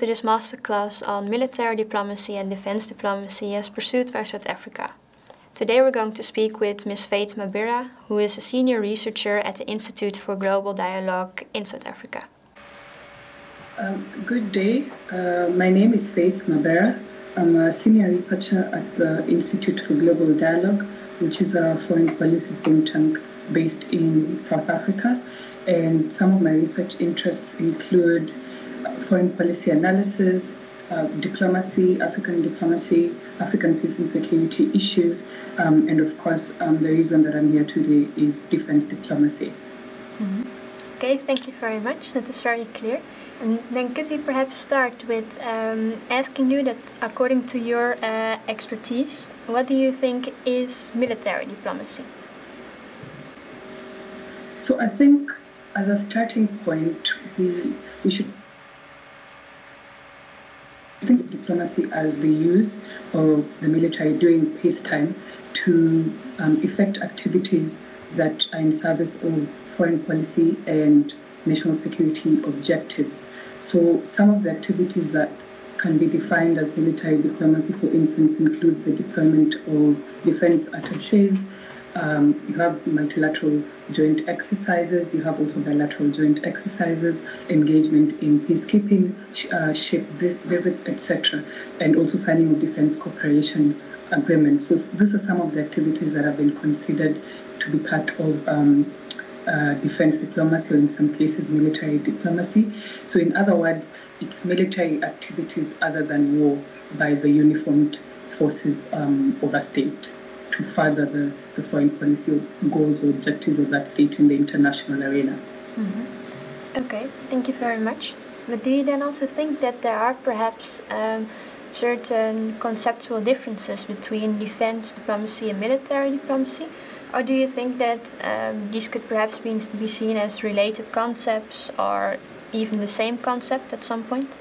to this masterclass on military diplomacy and defense diplomacy as pursued by South Africa. Today we're going to speak with Ms. Faith Mabira, who is a senior researcher at the Institute for Global Dialogue in South Africa. Good day. My name is Faith Mabira. I'm a senior researcher at the Institute for Global Dialogue, which is a foreign policy think tank based in South Africa. And some of my research interests include foreign policy analysis, diplomacy, African peace and security issues, and of course, the reason that I'm here today is defense diplomacy. Mm-hmm. Okay, thank you very much. That is very clear. And then could we perhaps start with asking you that, according to your expertise, what do you think is military diplomacy? So I think as a starting point, we should think of diplomacy as the use of the military during peacetime to effect activities that are in service of foreign policy and national security objectives. So some of the activities that can be defined as military diplomacy, for instance, include the deployment of defense attaches. You have multilateral joint exercises, you have also bilateral joint exercises, engagement in peacekeeping, ship visits, etc., and also signing of defense cooperation agreements. So these are some of the activities that have been considered to be part of defense diplomacy, or in some cases military diplomacy. So in other words, it's military activities other than war by the uniformed forces of a state to further the foreign policy goals or objectives of that state in the international arena. Mm-hmm. Okay, thank you very much. But do you then also think that there are perhaps certain conceptual differences between defense diplomacy and military diplomacy? Or do you think that these could perhaps be seen as related concepts or even the same concept at some point?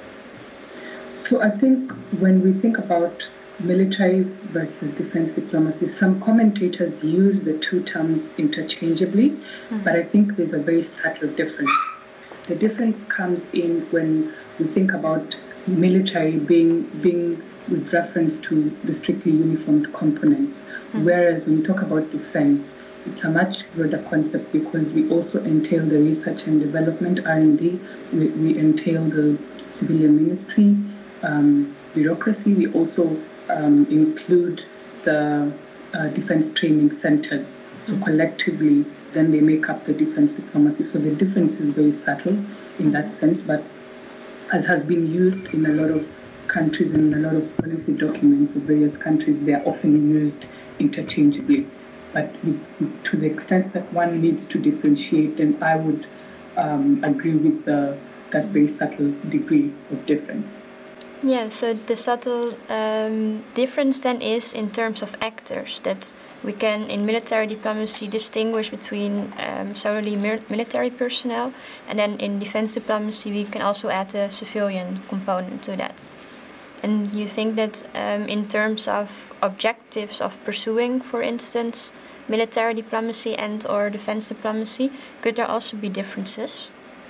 So I think when we think about military versus defense diplomacy, some commentators use the two terms interchangeably, but I think there's a very subtle difference. The difference comes in when we think about military being with reference to the strictly uniformed components, whereas when we talk about defense, it's a much broader concept because we also entail the research and development, R&D, we entail the civilian ministry, bureaucracy, we also include the defense training centers. So collectively, then they make up the defense diplomacy. So the difference is very subtle in that sense, but as has been used in a lot of countries and a lot of policy documents of various countries, they are often used interchangeably. But to the extent that one needs to differentiate, then I would agree with that very subtle degree of difference. Yeah, so the subtle difference then is in terms of actors, that we can in military diplomacy distinguish between solely military personnel, and then in defense diplomacy we can also add a civilian component to that. And you think that in terms of objectives of pursuing, for instance, military diplomacy and or defense diplomacy, could there also be differences?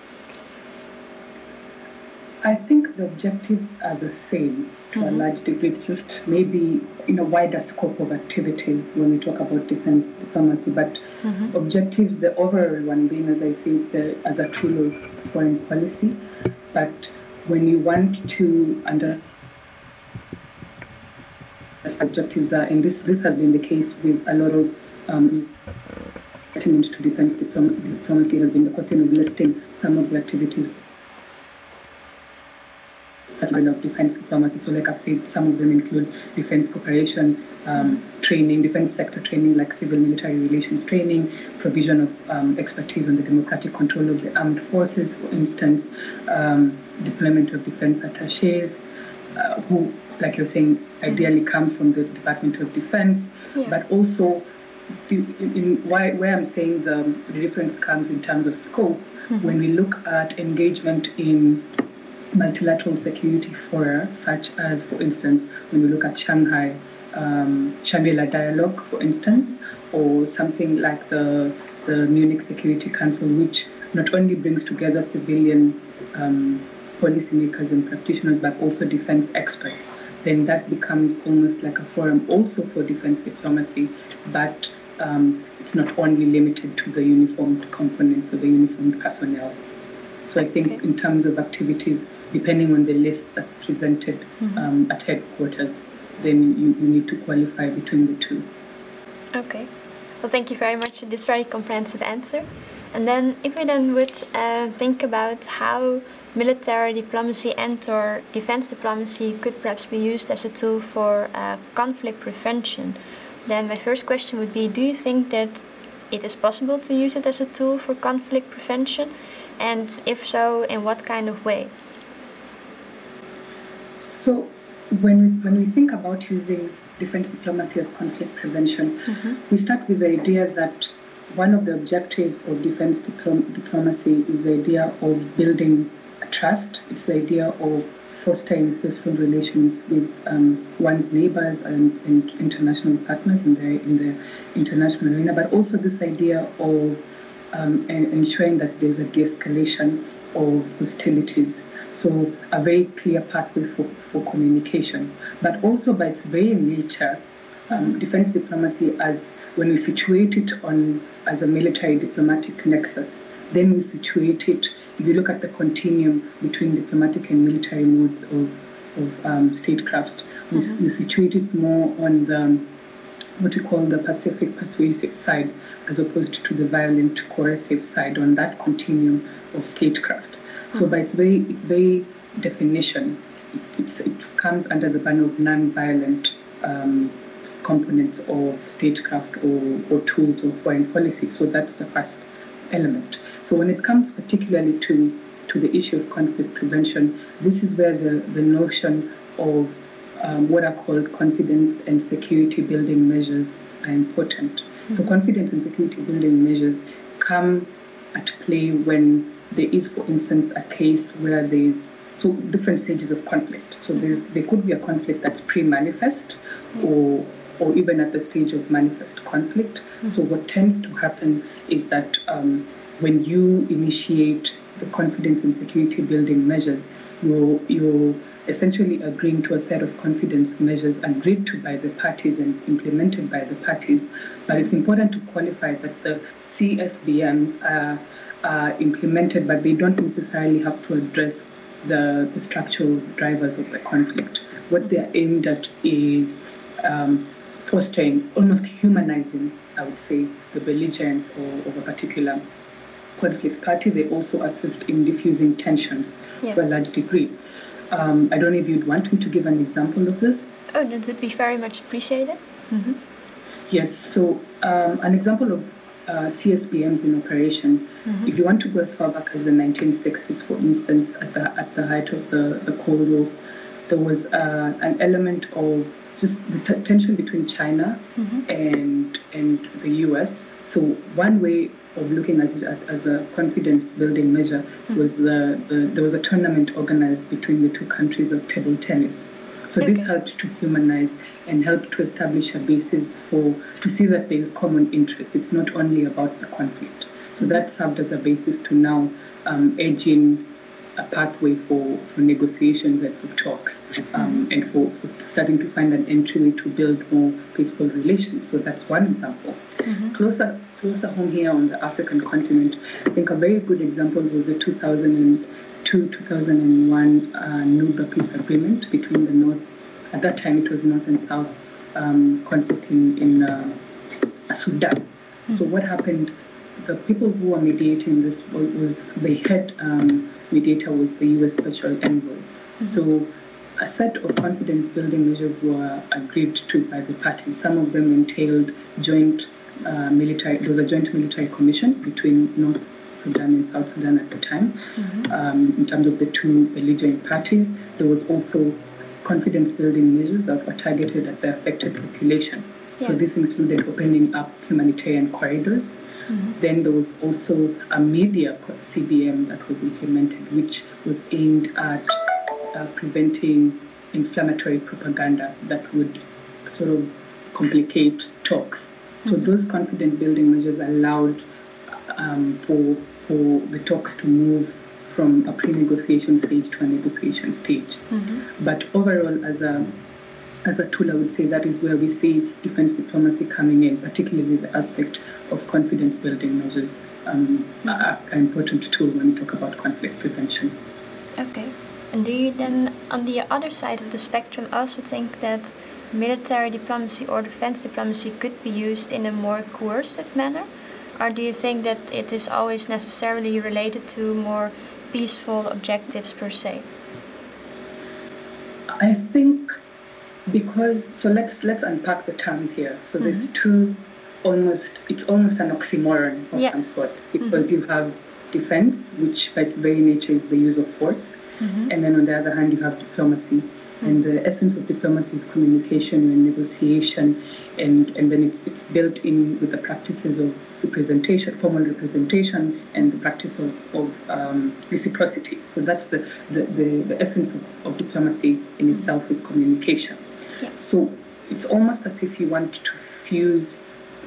I think the objectives are the same to a large degree. It's just maybe in a wider scope of activities when we talk about defense diplomacy. But objectives, the overall one being, as I said, as a tool of foreign policy. But when you want to objectives are, and this has been the case with a lot of attendance to defense diplomacy, has been the question of listing some of the activities of defense diplomacy. So like I've said, some of them include defense cooperation, training, defense sector training like civil military relations training, provision of expertise on the democratic control of the armed forces, for instance, deployment of defense attaches, who, like you're saying, ideally come from the Department of Defense, but also where I'm saying the difference comes in terms of scope, when we look at engagement in multilateral security fora, such as, for instance, when we look at Shangri-La Dialogue, for instance, or something like the Munich Security Council, which not only brings together civilian policymakers and practitioners, but also defense experts, then that becomes almost like a forum also for defense diplomacy, but it's not only limited to the uniformed components or the uniformed personnel. So I think in terms of activities, depending on the list that's presented at headquarters, then you need to qualify between the two. Okay. Well, thank you very much for this very comprehensive answer. And then if we then would think about how military diplomacy and/or defense diplomacy could perhaps be used as a tool for conflict prevention, then my first question would be, do you think that it is possible to use it as a tool for conflict prevention? And if so, in what kind of way? So when we think about using defense diplomacy as conflict prevention, we start with the idea that one of the objectives of defense diplomacy is the idea of building a trust. It's the idea of fostering peaceful relations with one's neighbors and international partners in the international arena, but also this idea of ensuring that there's a de-escalation of hostilities. So a very clear pathway for communication. But also by its very nature, defense diplomacy, as when we situate it as a military diplomatic nexus, then we situate it, if you look at the continuum between diplomatic and military modes of statecraft, we situate it more on the what we call the Pacific persuasive side, as opposed to the violent coercive side on that continuum of statecraft. So by its very definition, it comes under the banner of non-violent components of statecraft or tools of foreign policy. So that's the first element. So when it comes particularly to the issue of conflict prevention, this is where the notion of what are called confidence and security building measures are important. So confidence and security building measures come at play when there is, for instance, a case where there's different stages of conflict. So there could be a conflict that's pre-manifest or even at the stage of manifest conflict. So what tends to happen is that when you initiate the confidence and security building measures, you're essentially agreeing to a set of confidence measures agreed to by the parties and implemented by the parties. But it's important to qualify that the CSBMs are implemented, but they don't necessarily have to address the structural drivers of the conflict. What they're aimed at is fostering, almost humanizing, I would say, the belligerents of a particular conflict party. They also assist in diffusing tensions to a large degree. I don't know if you'd want me to give an example of this. Oh, that would be very much appreciated. Yes, so an example of CSBMs in operation, if you want to go as far back as the 1960s, for instance, at the height of the Cold War, there was an element of just the tension between China and the US. So one way of looking at it as a confidence building measure was there was a tournament organized between the two countries of table tennis. So this helped to humanize and helped to establish a basis to see that there is common interest. It's not only about the conflict. So that served as a basis to now edge in a pathway for negotiations and for talks and for starting to find an entry to build more peaceful relations. So that's one example. Closer home here on the African continent, I think a very good example was the 2002-2001 Nuba Peace Agreement between the North, at that time it was North and South conflict in Sudan. So what happened, the people who were mediating this was the head mediator was the U.S. Special Envoy. So a set of confidence building measures were agreed to by the parties. Some of them entailed joint military, there was a joint military commission between North Sudan and South Sudan at the time. In terms of the two belligerent parties, there was also confidence building measures that were targeted at the affected population. So this included opening up humanitarian corridors. Then there was also a media CBM that was implemented, which was aimed at preventing inflammatory propaganda that would sort of complicate talks. So those confidence building measures allowed for the talks to move from a pre-negotiation stage to a negotiation stage. But overall, as a tool, I would say that is where we see defense diplomacy coming in, particularly the aspect of confidence-building measures are an important tool when we talk about conflict prevention. Okay. And do you then, on the other side of the spectrum, also think that military diplomacy or defense diplomacy could be used in a more coercive manner? Or do you think that it is always necessarily related to more peaceful objectives per se? I think let's unpack the terms here. So there's two it's almost an oxymoron of some sort, because you have defense, which by its very nature is the use of force, and then on the other hand you have diplomacy. And the essence of diplomacy is communication and negotiation, and then it's built in with the practices of representation, formal representation, and the practice of reciprocity. So that's the essence of diplomacy in itself is communication. Yeah. So it's almost as if you want to fuse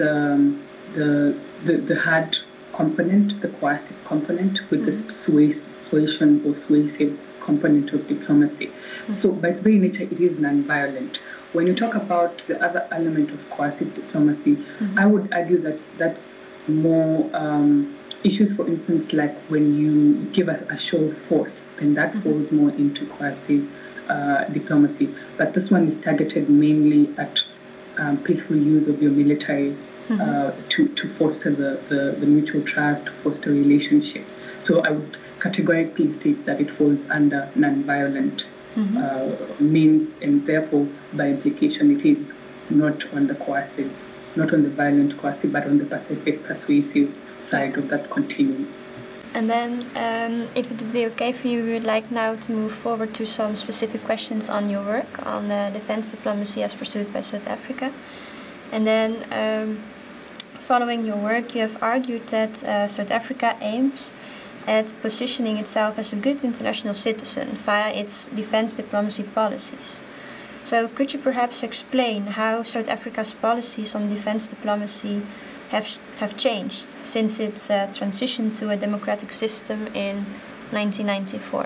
the hard component, the coercive component, with the suasion or suasive component of diplomacy. So by its very nature, it is non-violent. When you talk about the other element of coercive diplomacy, I would argue that that's more issues, for instance, like when you give a show of force, then that falls more into coercive diplomacy. But this one is targeted mainly at peaceful use of your military to foster the mutual trust, to foster relationships. So I would categorically state that it falls under non-violent means, and therefore, by implication, it is not on the coercive, not on the violent coercive, but on the pacific persuasive side of that continuum. And then, if it would be okay for you, we would like now to move forward to some specific questions on your work on defense diplomacy as pursued by South Africa. And then, following your work, you have argued that South Africa aims at positioning itself as a good international citizen via its defense diplomacy policies. So could you perhaps explain how South Africa's policies on defense diplomacy have changed since its transition to a democratic system in 1994?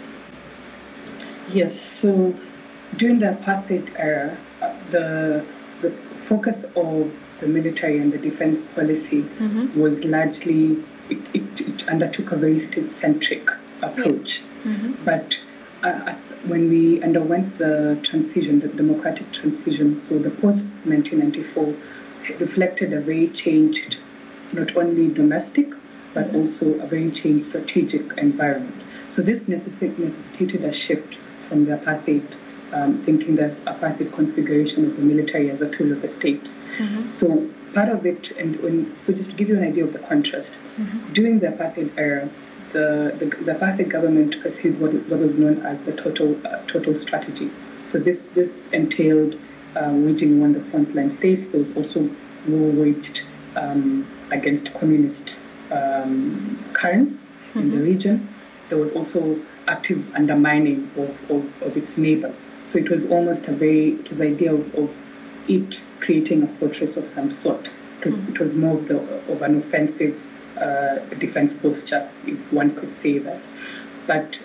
Yes, so during the apartheid era, the focus of the military and the defense policy was largely, it undertook a very state-centric approach. But when we underwent the transition, the democratic transition, so the post-1994 reflected a very changed, not only domestic, but also a very changed strategic environment. So this necessitated a shift from the apartheid, thinking that apartheid configuration of the military as a tool of the state. So part of it, so just to give you an idea of the contrast, during the apartheid era, the apartheid government pursued what was known as the total strategy. So this entailed waging war on the frontline states. There was also war waged against communist currents in the region. There was also active undermining of its neighbors. So it was almost the idea of it creating a fortress of some sort. It was more of an offensive defense posture, if one could say that. But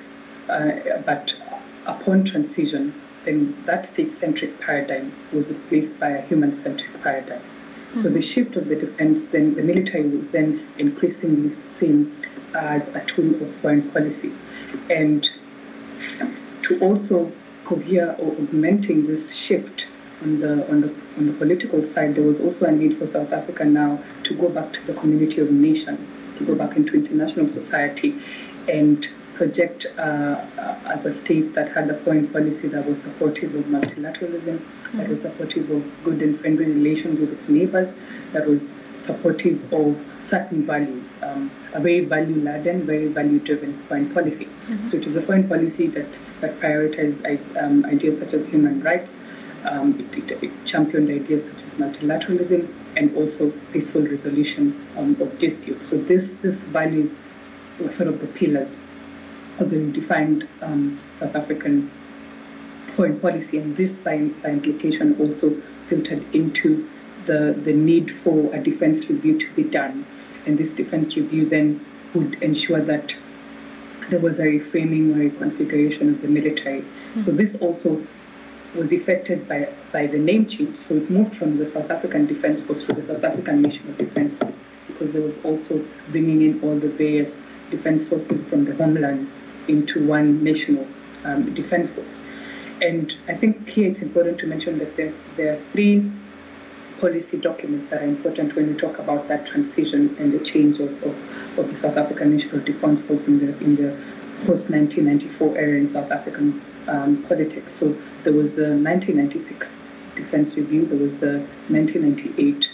upon transition, then that state-centric paradigm was replaced by a human-centric paradigm. So the shift of the defense, then the military was then increasingly seen as a tool of foreign policy. And to also cohere or augmenting this shift on the political side, there was also a need for South Africa now to go back to the community of nations, to go back into international society and project as a state that had a foreign policy that was supportive of multilateralism, that was supportive of good and friendly relations with its neighbors, that was supportive of certain values, a very value-laden, very value-driven foreign policy. So it was a foreign policy that prioritized ideas such as human rights. It championed ideas such as multilateralism and also peaceful resolution of disputes. So these values were sort of the pillars of the redefined South African foreign policy, and this by implication also filtered into the need for a defense review to be done. And this defense review then would ensure that there was a reframing or a configuration of the military. So this also was affected by the name change. So it moved from the South African Defence Force to the South African National Defence Force, because there was also bringing in all the various defence forces from the homelands into one national defence force. And I think here it's important to mention that there are three policy documents that are important when we talk about that transition and the change of the South African National Defence Force in the post-1994 era in South African politics. So there was the 1996 Defence Review, there was the 1998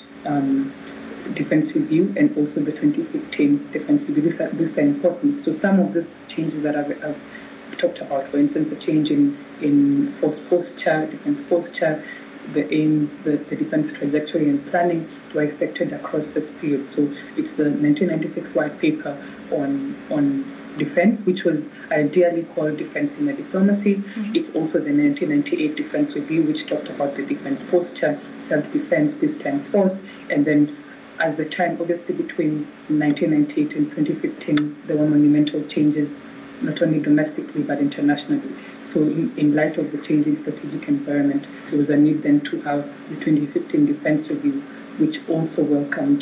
Defence Review, and also the 2015 Defence Review. These are important. So some of these changes that I've talked about, for instance, the change in force posture, defence posture, the aims, the defence trajectory and planning were affected across this period. So it's the 1996 white paper on defence, which was ideally called Defence in the Diplomacy. It's also the 1998 Defence Review, which talked about the defence posture, self-defence, peacetime force, and then as the time, obviously between 1998 and 2015, there were monumental changes, not only domestically but internationally. So in light of the changing strategic environment, there was a need then to have the 2015 Defence Review, which also welcomed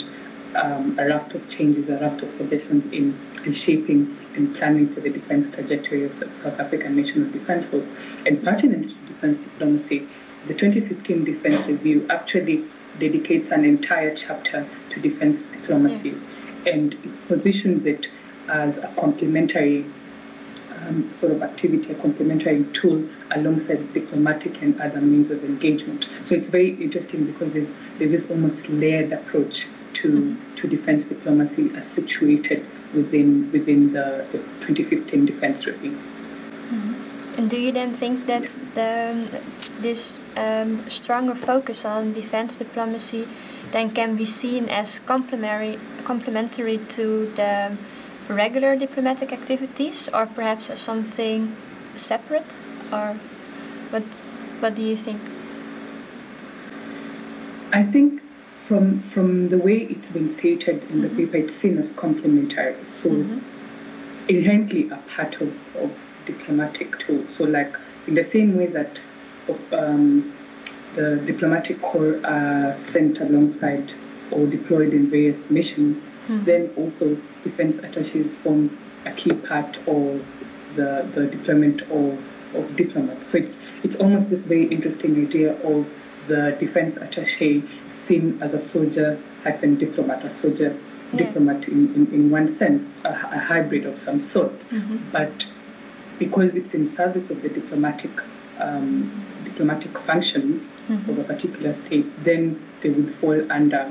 a raft of changes, a raft of suggestions in reshaping and planning for the defence trajectory of South African National Defence Force. And pertinent to defence diplomacy, the 2015 Defence Review actually dedicates an entire chapter to defence diplomacy, and it positions it as a complementary sort of activity, a complementary tool alongside diplomatic and other means of engagement. So it's very interesting because there's this almost layered approach to defence diplomacy as situated within the 2015 Defence Review. And do you then think that this stronger focus on defence diplomacy then can be seen as complementary to the regular diplomatic activities, or perhaps as something separate? Or what do you think? I think from the way it's been stated in the paper, it's seen as complementary. So inherently a part of diplomatic tools. So like in the same way that the diplomatic corps are sent alongside or deployed in various missions, then also defense attaches form a key part of the deployment of diplomats. So it's almost this very interesting idea of the defense attaché seen as a soldier hyphen diplomat, a soldier diplomat in one sense, a hybrid of some sort. But because it's in service of the diplomatic functions of a particular state, then they would fall under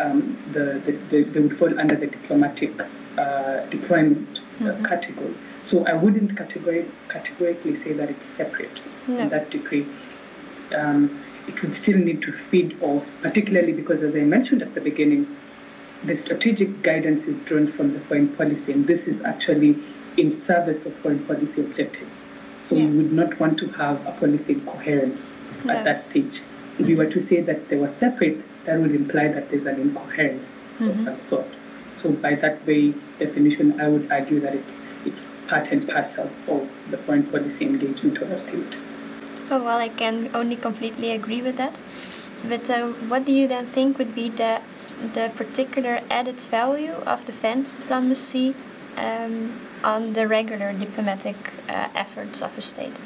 the diplomatic deployment category. So I wouldn't categorically say that it's separate in that degree. It would still need to feed off, particularly because, as I mentioned at the beginning, the strategic guidance is drawn from the foreign policy, and this is actually in service of foreign policy objectives. So we would not want to have a policy incoherence at that stage. If we were to say that they were separate, that would imply that there's an incoherence of some sort. So by that very definition, I would argue that it's part and parcel of the foreign policy engagement of a state. Oh, well, I can only completely agree with that. But what do you then think would be the particular added value of defense diplomacy on the regular diplomatic efforts of a state?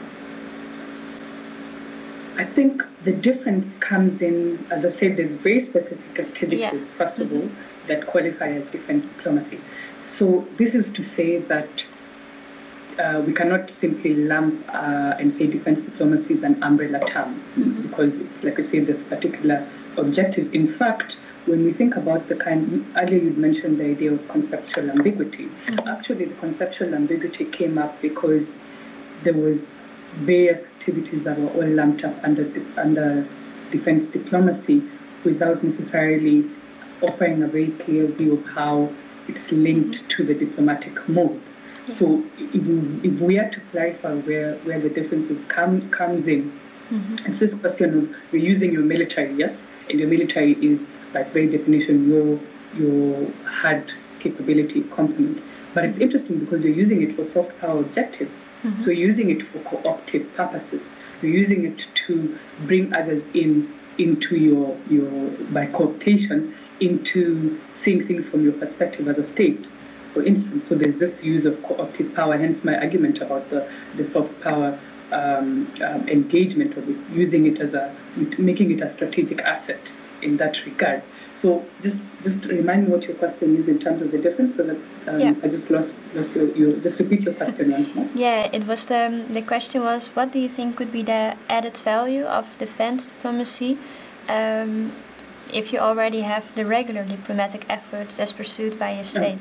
I think the difference comes in, as I've said, there's very specific activities, first of all, that qualify as defense diplomacy. So this is to say that we cannot simply lump and say defense diplomacy is an umbrella term because, like I said, there's particular objectives. In fact, when we think about earlier you mentioned the idea of conceptual ambiguity. Actually, the conceptual ambiguity came up because there was various activities that were all lumped up under defense diplomacy without necessarily offering a very clear view of how it's linked to the diplomatic mode. So if we are to clarify where the differences comes in, it's this question of you're using your military, yes, and your military is, by its very definition, your hard capability complement. But it's interesting because you're using it for soft power objectives. So you're using it for cooperative purposes. You're using it to bring others into your by cooptation, into seeing things from your perspective as a state, for instance. So there's this use of cooperative power, hence my argument about the soft power engagement of it, using it making it a strategic asset in that regard. So just remind me what your question is in terms of the difference, so that I just lost your just repeat your question once more. Yeah, it was the question was, what do you think could be the added value of defense diplomacy if you already have the regular diplomatic efforts as pursued by a state?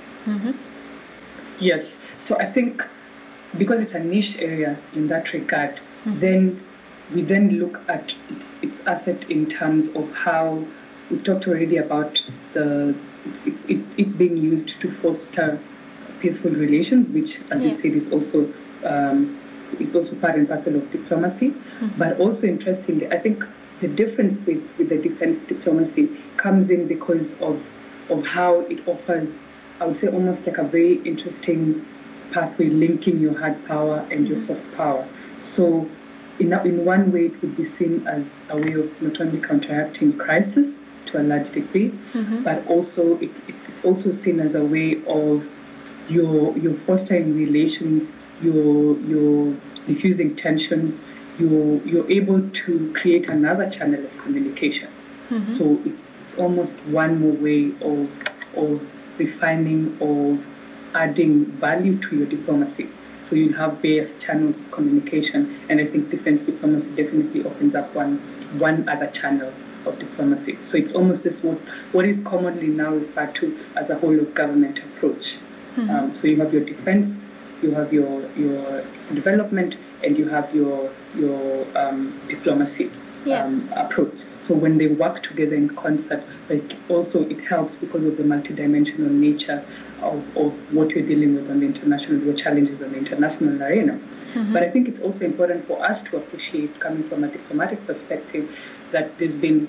Yes, so I think because it's a niche area in that regard, then we look at its asset in terms of how we've talked already about it being used to foster peaceful relations, which, as you said, is also part and parcel of diplomacy. But also, interestingly, I think the difference with the defense diplomacy comes in because of how it offers, I would say, almost like a very interesting pathway linking your hard power and your soft power. So in one way, it would be seen as a way of not only counteracting crisis to a large degree, but also it's also seen as a way of your fostering relations, your diffusing tensions, you're able to create another channel of communication. So it's almost one more way of refining, of adding value to your diplomacy. So you have various channels of communication, and I think defense diplomacy definitely opens up one other channel of diplomacy. So it's almost this what is commonly now referred to as a whole of government approach. So you have your defense, you have your development, and you have your diplomacy approach. So when they work together in concert, also it helps because of the multidimensional nature of what you're dealing with on the international, your challenges on the international arena. But I think it's also important for us to appreciate, coming from a diplomatic perspective, that there's been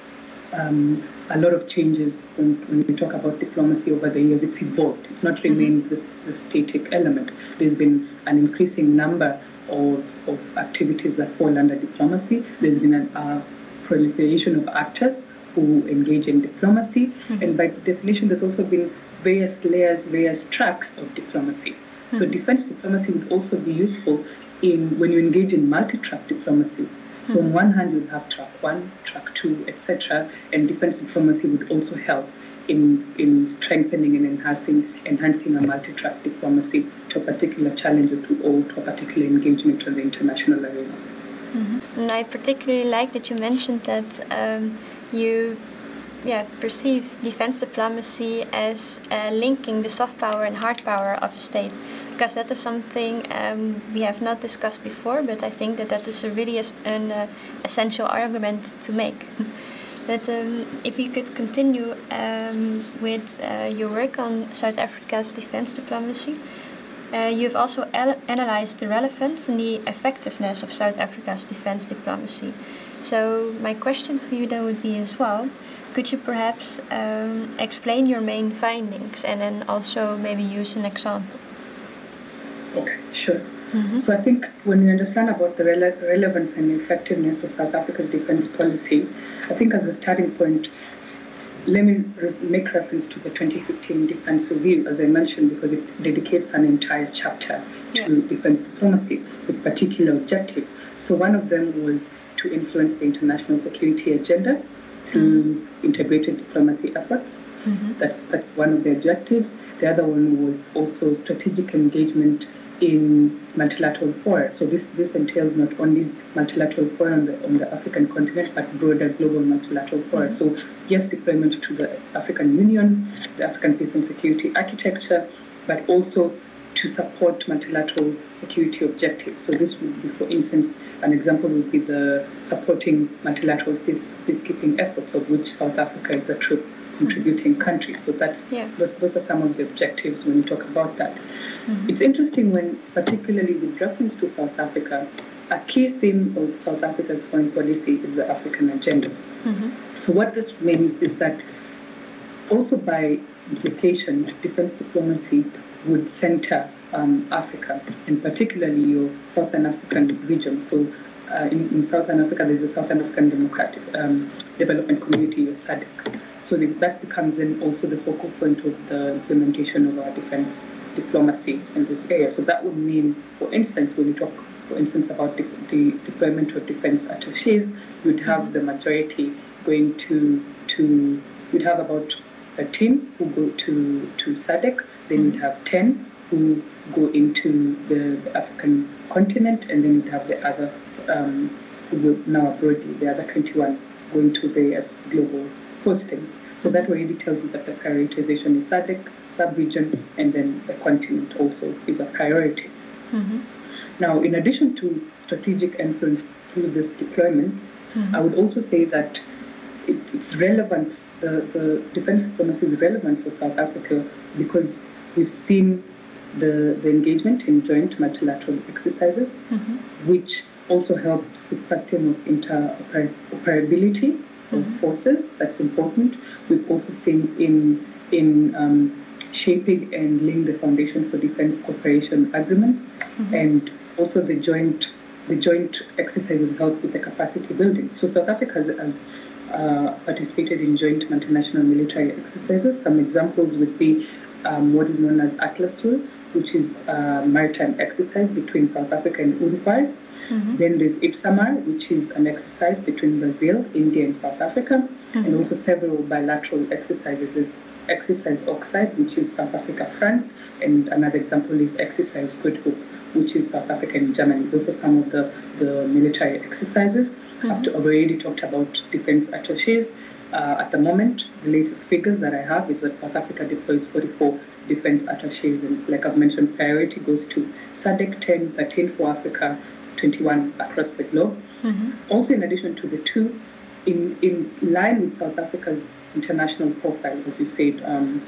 a lot of changes when we talk about diplomacy over the years. It's evolved. It's not remained this static element. There's been an increasing number of activities that fall under diplomacy. There's been a proliferation of actors who engage in diplomacy. And by definition, there's also been various layers, various tracks of diplomacy. So defense diplomacy would also be useful when you engage in multi-track diplomacy. So on one hand, you'd have track 1, track 2, etc. And defense diplomacy would also help in strengthening and enhancing a multi-track diplomacy to a particular challenge or to a particular engagement on the international arena. And I particularly like that you mentioned that you perceive defense diplomacy as linking the soft power and hard power of a state, because that is something we have not discussed before, but I think that is really an essential argument to make. But if you could continue with your work on South Africa's defense diplomacy, you've also analyzed the relevance and the effectiveness of South Africa's defense diplomacy. So my question for you then would be as well, could you perhaps explain your main findings and then also maybe use an example? Okay, sure. So I think when we understand about the relevance and effectiveness of South Africa's defense policy, I think as a starting point, let me make reference to the 2015 Defense Review, as I mentioned, because it dedicates an entire chapter to defense diplomacy with particular objectives. So one of them was to influence the international security agenda through integrated diplomacy efforts. That's one of the objectives. The other one was also strategic engagement in multilateral fora. So this entails not only multilateral fora on the African continent, but broader global multilateral fora. So yes, deployment to the African Union, the African Peace and Security Architecture, but also to support multilateral security objectives. So this would be, for instance, an example would be the supporting multilateral peacekeeping efforts, of which South Africa is a true contributing country. So those are some of the objectives when you talk about that. It's interesting when, particularly with reference to South Africa, a key theme of South Africa's foreign policy is the African agenda. So what this means is that also by implication, defense diplomacy would center Africa, and particularly your Southern African region. So in Southern Africa, there's the Southern African Democratic Development Community, or SADC. So that becomes then also the focal point of the implementation of our defense diplomacy in this area. So that would mean, for instance, when you talk, for instance, about the deployment of defense attaches, you'd have the majority going to you'd have about 13 who go to SADC, then you'd have 10 who go into the African continent, and then you'd have the other who go now broadly, the other 21 going to various global postings. So that already tells you that the prioritization is SADC, sub-region, and then the continent also is a priority. Now, in addition to strategic influence through these deployments, I would also say that it's relevant, the defense diplomacy is relevant for South Africa because we've seen the engagement in joint multilateral exercises, which also helps with question of interoperability of forces. That's important. We've also seen in shaping and laying the foundation for defense cooperation agreements, and also the joint exercises help with the capacity building. So South Africa has participated in joint multinational military exercises. Some examples would be what is known as ATLASUL, which is a maritime exercise between South Africa and Uruguay. Then there's IPSAMAR, which is an exercise between Brazil, India, and South Africa, and also several bilateral exercises. There's Exercise Oxide, which is South Africa, France, and another example is Exercise Good Hope, which is South Africa and Germany. Those are some of the military exercises. I've already talked about defense attaches. At the moment, the latest figures that I have is that South Africa deploys 44 defense attaches, and like I've mentioned, priority goes to SADC, 10, 13 for Africa, 21 across the globe. Also, in addition to the two, in line with South Africa's international profile, as you said,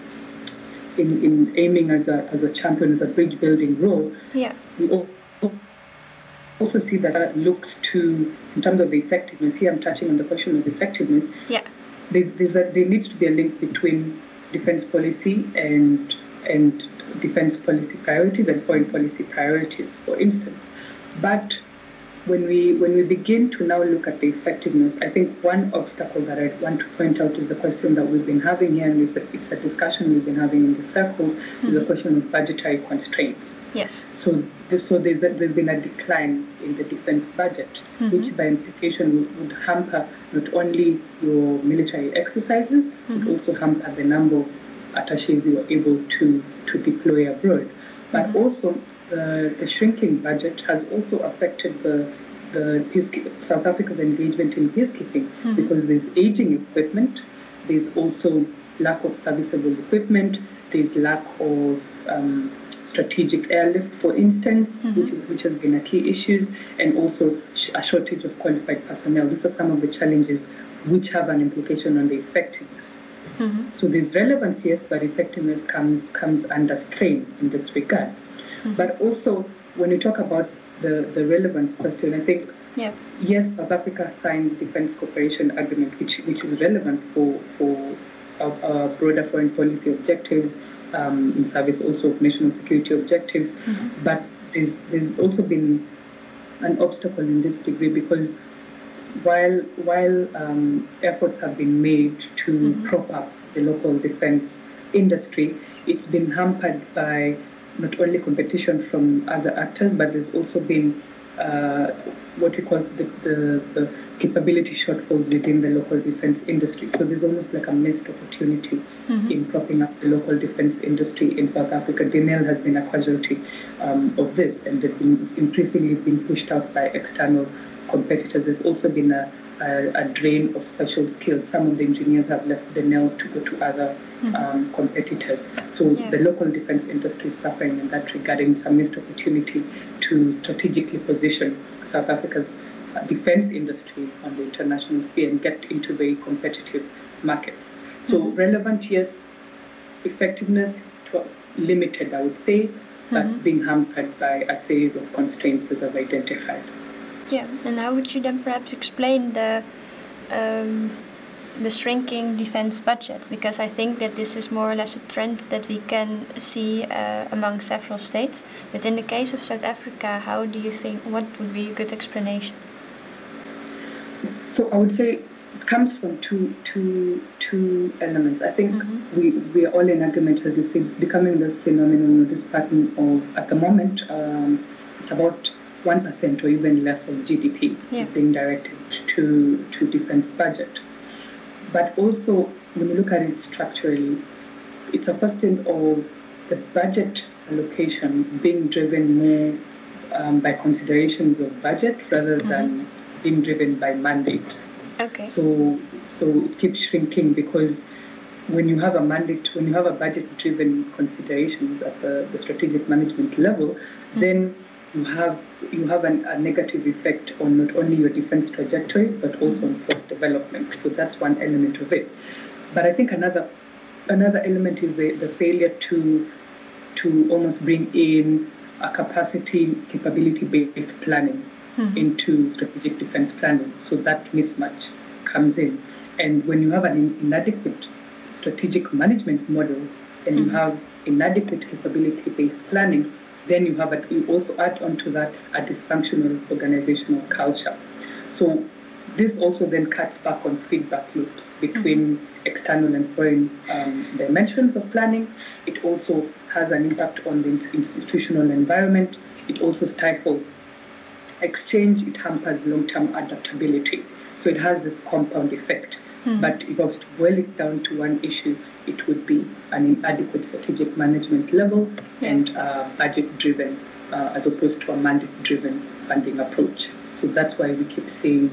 in aiming as a champion, as a bridge building role, we also see that looks to, in terms of the effectiveness, here I'm touching on the question of effectiveness, there needs to be a link between defense policy and defense policy priorities and foreign policy priorities, for instance. But when we begin to now look at the effectiveness, I think one obstacle that I want to point out is the question that we've been having here, and it's a discussion we've been having in the circles, is the question of budgetary constraints. Yes. So there's been a decline in the defense budget, which by implication would hamper not only your military exercises, but also hamper the number of attaches you are able to deploy abroad. But also the shrinking budget has also affected the South Africa's engagement in peacekeeping, because there's aging equipment, there's also lack of serviceable equipment, there's lack of strategic airlift, for instance, which has been a key issue, and also a shortage of qualified personnel. These are some of the challenges which have an implication on the effectiveness. So there's relevance, yes, but effectiveness comes under strain in this regard. But also, when you talk about the relevance question, I think, yes, South Africa signs defense cooperation agreement, which is relevant for broader foreign policy objectives, in service also of national security objectives. But there's also been an obstacle in this degree, because while efforts have been made to prop up the local defense industry, it's been hampered by not only competition from other actors, but there's also been what we call the capability shortfalls within the local defense industry. So there's almost like a missed opportunity in propping up the local defense industry in South Africa. Denel has been a casualty of this, and it's increasingly been pushed out by external competitors. There's also been a drain of special skills. Some of the engineers have left Denel to go to other competitors. So the local defense industry is suffering in that regard, and it's a missed opportunity to strategically position South Africa's defense industry on the international sphere and get into very competitive markets. So relevant, yes. Effectiveness, limited, I would say, but being hampered by a series of constraints as I've identified. Yeah, and how would you then perhaps explain the the shrinking defense budget? Because I think that this is more or less a trend that we can see among several states. But in the case of South Africa, how do you think, what would be a good explanation? So I would say it comes from two elements. I think we are all in agreement, as you've said, it's becoming this phenomenon, this pattern of, at the moment, it's about 1% or even less of GDP is being directed to defense budget. But also, when you look at it structurally, it's a question of the budget allocation being driven more by considerations of budget rather than being driven by mandate. Okay. So it keeps shrinking because when you have a mandate, when you have a budget-driven considerations at the strategic management level, then you have a negative effect on not only your defense trajectory but also on force development. So that's one element of it. But I think another element is the failure to almost bring in a capability-based planning into strategic defense planning. So that mismatch comes in. And when you have an inadequate strategic management model and you have inadequate capability-based planning, then you also add onto that a dysfunctional organizational culture. So this also then cuts back on feedback loops between external and foreign dimensions of planning. It also has an impact on the institutional environment. It also stifles exchange. It hampers long-term adaptability. So it has this compound effect. But if I was to boil it down to one issue, it would be an inadequate strategic management level and budget-driven as opposed to a mandate-driven funding approach. So that's why we keep seeing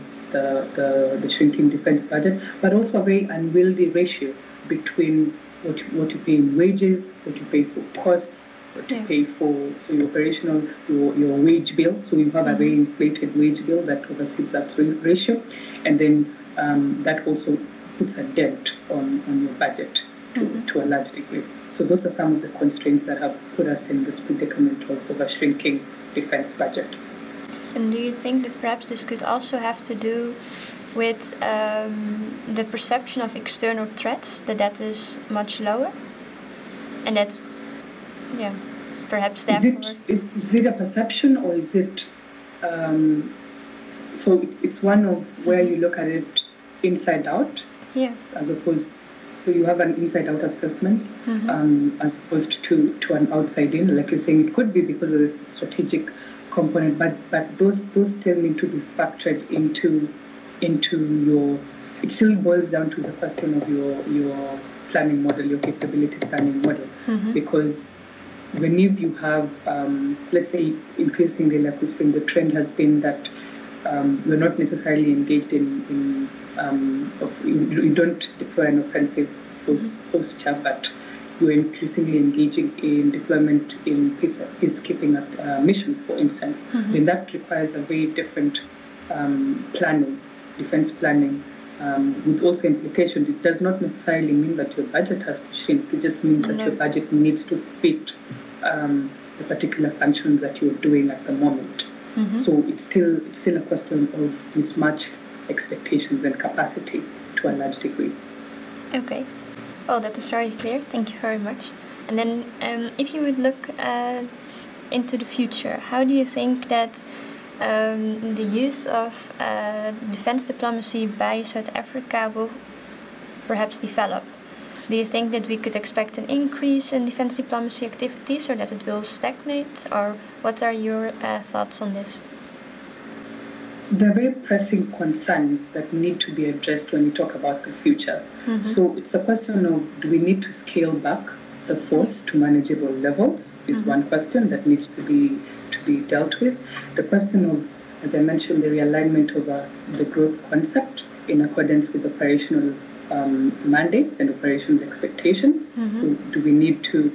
the shrinking defense budget, but also a very unwieldy ratio between what you pay in wages, what you pay for costs, what you pay for your operational, your wage bill. So you have a very inflated wage bill that oversees that ratio, and then that also puts a dent on your budget to a large degree. So those are some of the constraints that have put us in this predicament of a shrinking defense budget. And do you think that perhaps this could also have to do with the perception of external threats, that is much lower? And that, perhaps therefore... Is it a perception or is it... so it's one of where you look at it inside out, as opposed... So you have an inside-out assessment as opposed to an outside-in. Like you're saying, it could be because of the strategic component, but those still need to be factored into your... It still boils down to the question of your planning model, your capability planning model, because when you have, let's say, increasingly, like we've seen, the trend has been that you're not necessarily engaged in you don't deploy an offensive posture, but you're increasingly engaging in deployment in peacekeeping missions, for instance. Then that requires a very different planning, defense planning, with also implications. It does not necessarily mean that your budget has to shrink. It just means that your budget needs to fit the particular functions that you're doing at the moment. So it's still a question of mismatched expectations and capacity to a large degree. Okay. Well, that is very clear. Thank you very much. And then if you would look into the future, how do you think that the use of defense diplomacy by South Africa will perhaps develop? Do you think that we could expect an increase in defense diplomacy activities or that it will stagnate? Or what are your thoughts on this? There are very pressing concerns that need to be addressed when we talk about the future. So it's a question of, do we need to scale back the force to manageable levels is one question that needs to be dealt with. The question of, as I mentioned, the realignment of the growth concept in accordance with operational mandates and operational expectations. So do we need to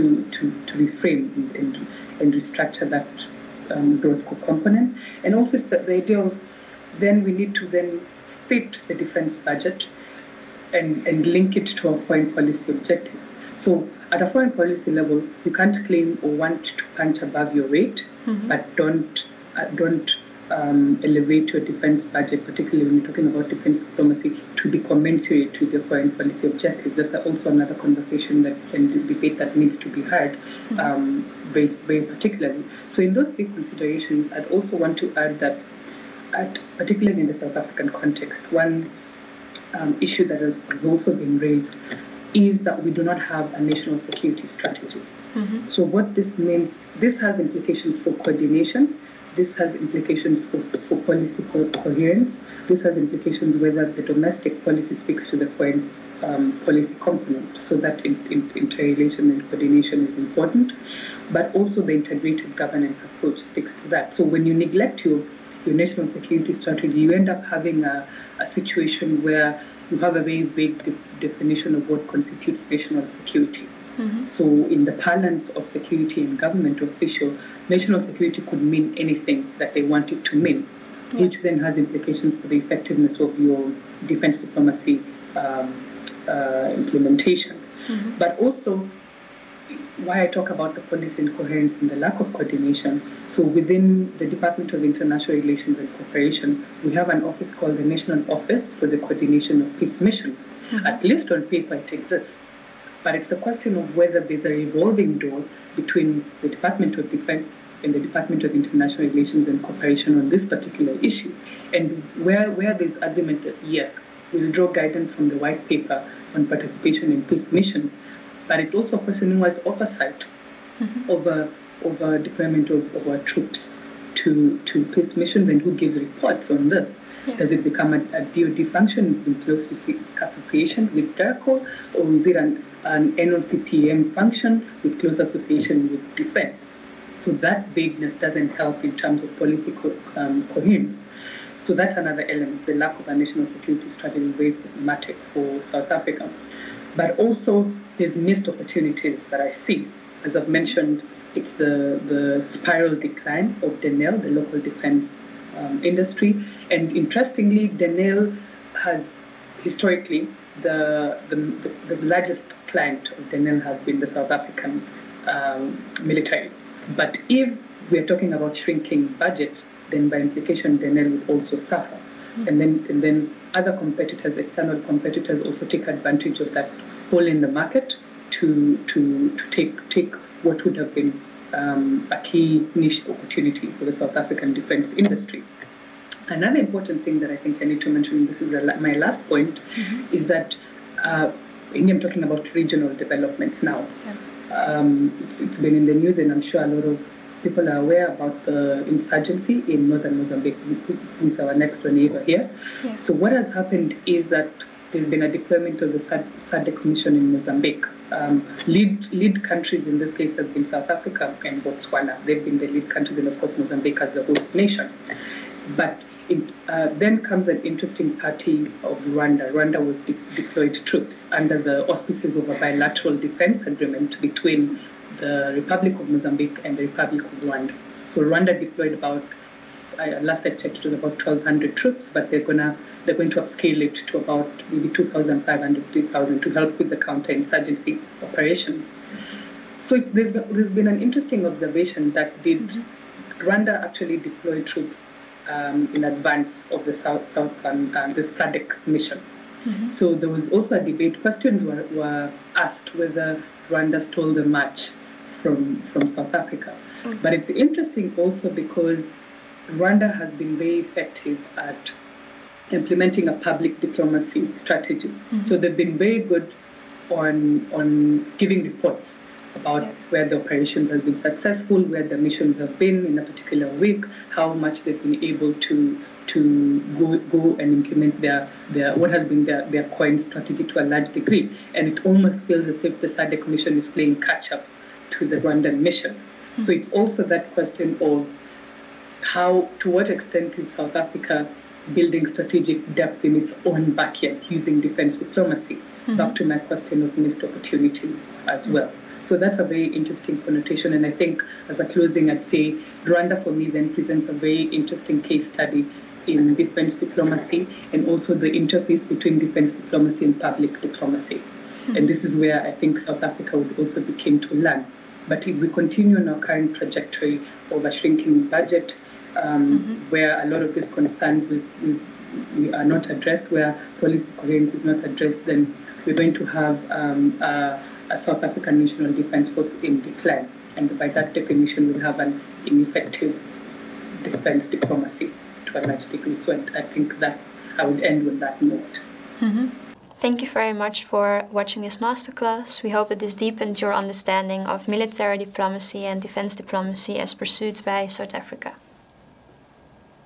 reframe and restructure that growth component? And also it's the idea of then we need to then fit the defense budget and link it to our foreign policy objectives. So at a foreign policy level, you can't claim or want to punch above your weight, but don't elevate your defense budget, particularly when you're talking about defense diplomacy, to be commensurate with your foreign policy objectives. That's also another conversation and debate that needs to be had very, very particularly. So in those three considerations, I'd also want to add that, particularly in the South African context, one issue that has also been raised is that we do not have a national security strategy. So what this means, this has implications for coordination, this has implications for policy coherence, this has implications whether the domestic policy speaks to the foreign policy component, so that interrelation and coordination is important, but also the integrated governance approach speaks to that. So when you neglect your national security strategy, you end up having a situation where you have a very vague definition of what constitutes national security. So in the parlance of security and government official, national security could mean anything that they want it to mean, which then has implications for the effectiveness of your defense diplomacy implementation. But also, why I talk about the policy incoherence and the lack of coordination. So within the Department of International Relations and Cooperation, we have an office called the National Office for the Coordination of Peace Missions. At least on paper it exists. But it's the question of whether there's a revolving door between the Department of Defense and the Department of International Relations and Cooperation on this particular issue. And where there's argument that, yes, we'll draw guidance from the white paper on participation in peace missions, but it's also a person who has oversight over deployment of our troops to peace missions and who gives reports on this. Does it become a DoD function in close association with DERCO, or is it an NOCPM function with close association with defense? So that vagueness doesn't help in terms of policy coherence. So that's another element. The lack of a national security strategy is very problematic for South Africa. But also, there's missed opportunities that I see. As I've mentioned, it's the spiral decline of Denel, the local defense industry. And interestingly, Denel has historically, the largest client of Denel has been the South African military. But if we're talking about shrinking budget, then by implication, Denel would also suffer. And then other competitors, external competitors, also take advantage of that hole in the market to take what would have been a key niche opportunity for the South African defense industry. Another important thing that I think I need to mention, and this is my last point, is that I'm talking about regional developments now. It's been in the news, and I'm sure a lot of people are aware about the insurgency in northern Mozambique, who is our next door neighbor here. So what has happened is that there's been a deployment of the SADC mission in Mozambique. Lead countries in this case has been South Africa and Botswana. They've been the lead countries, and of course Mozambique as the host nation. But then comes an interesting party of Rwanda. Rwanda was deployed troops under the auspices of a bilateral defense agreement between the Republic of Mozambique and the Republic of Rwanda. So Rwanda deployed about, last I checked, it was about 1,200 troops, but they're going to upscale it to about maybe 2,500, 3,000 to help with the counterinsurgency operations. So there's been an interesting observation that Rwanda actually deploy troops in advance of the the SADC mission. So there was also a debate. Questions were asked whether Rwanda stole the march from South Africa. But it's interesting also because Rwanda has been very effective at implementing a public diplomacy strategy. So they've been very good on giving reports about where the operations have been successful, where the missions have been in a particular week, how much they've been able to go and implement their what has been their coin strategy to a large degree. And it almost feels as if the SADC mission is playing catch up to the Rwandan mission. So it's also that question of to what extent is South Africa building strategic depth in its own backyard using defense diplomacy? Back to my question of missed opportunities as well. So that's a very interesting connotation. And I think as a closing, I'd say Rwanda for me then presents a very interesting case study in defense diplomacy and also the interface between defense diplomacy and public diplomacy. And this is where I think South Africa would also be keen to learn. But if we continue on our current trajectory of a shrinking budget, where a lot of these concerns we are not addressed, where policy coherence is not addressed, then we're going to have a South African National Defence Force in decline. And by that definition, we'll have an ineffective defence diplomacy to a large degree. So I think that I would end with that note. Mm-hmm. Thank you very much for watching this masterclass. We hope that this deepened your understanding of military diplomacy and defence diplomacy as pursued by South Africa.